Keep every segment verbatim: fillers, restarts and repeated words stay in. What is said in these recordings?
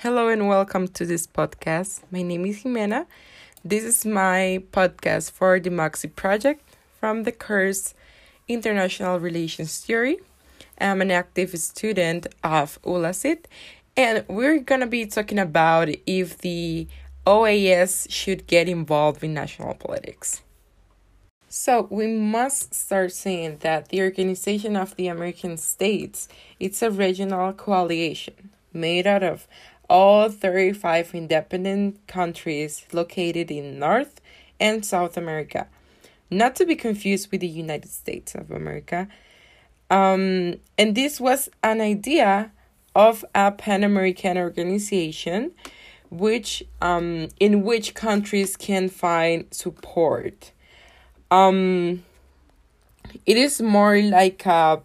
Hello and welcome to this podcast. My name is Jimena. This is my podcast for the Moxie Project from the course International Relations Theory. I'm an active student of ULASIT, and we're going to be talking about if the O A S should get involved in national politics. So we must start saying that the Organization of the American States, it's a regional coalition made out of all thirty-five independent countries located in North and South America, not to be confused with the United States of America. Um, and this was an idea of a Pan-American organization which um, in which countries can find support. Um, it is more like a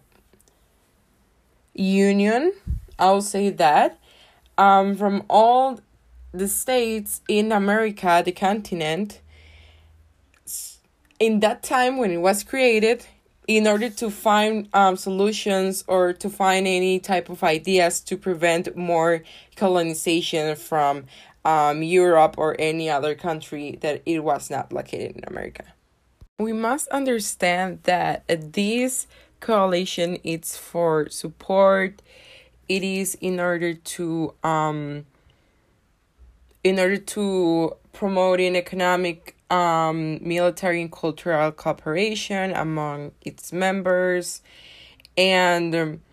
union, I'll say that, um, from all the states in America, the continent, in that time when it was created, in order to find um, solutions or to find any type of ideas to prevent more colonization from um, Europe or any other country that it was not located in America. We must understand that this coalition is for support. It is in order to um in order to promoting economic, um, military, and cultural cooperation among its members. And um,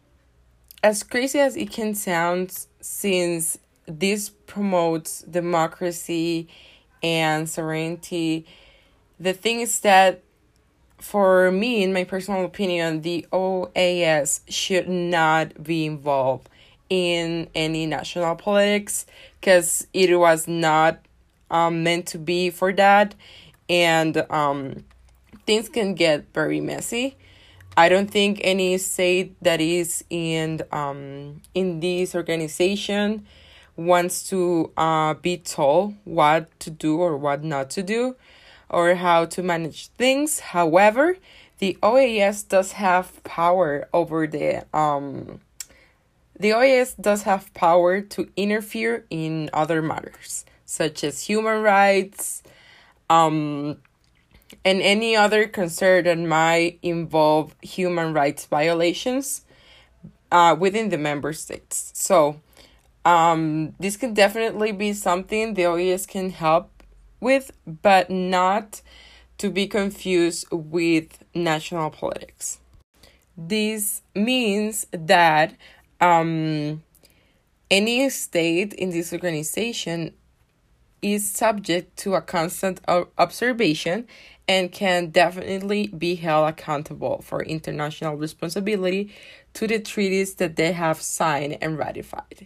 as crazy as it can sound, since this promotes democracy and sovereignty, the thing is that, for me, in my personal opinion, the O A S should not be involved in any national politics because it was not um, meant to be for that. And um, things can get very messy. I don't think any state that is in um in this organization wants to uh be told what to do or what not to do, or how to manage things. However, the O A S does have power over the um the O A S does have power to interfere in other matters, such as human rights, um and any other concern that might involve human rights violations uh within the member states. So um this can definitely be something the O A S can help with, but not to be confused with national politics. This means that um, any state in this organization is subject to a constant observation and can definitely be held accountable for international responsibility to the treaties that they have signed and ratified.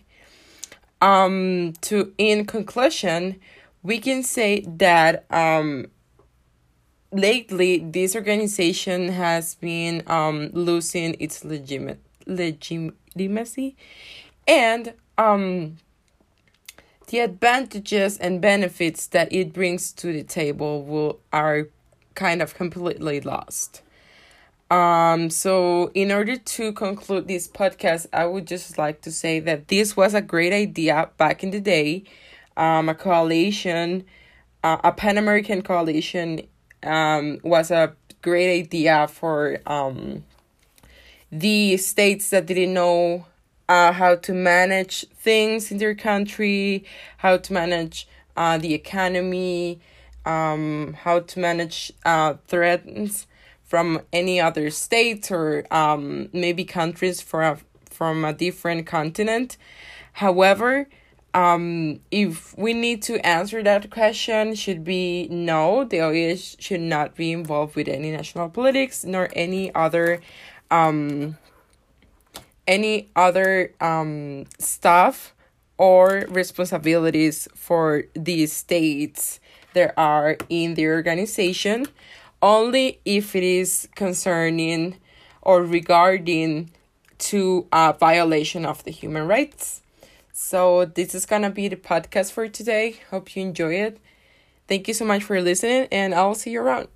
Um, to in conclusion, we can say that um, lately this organization has been um, losing its legit- legitimacy, and um, the advantages and benefits that it brings to the table will are kind of completely lost. Um, so in order to conclude this podcast, I would just like to say that this was a great idea back in the day. Um, a coalition, uh, a Pan-American coalition, um, was a great idea for um, the states that didn't know uh, how to manage things in their country, how to manage uh, the economy, um, how to manage uh, threats from any other state or um, maybe countries for a, from a different continent. However, Um, if we need to answer that question, should be no, the O A S should not be involved with any national politics nor any other um any other um stuff or responsibilities for the states that are in the organization, only if it is concerning or regarding to a violation of the human rights. So this is going to be the podcast for today. Hope you enjoy it. Thank you so much for listening, and I'll see you around.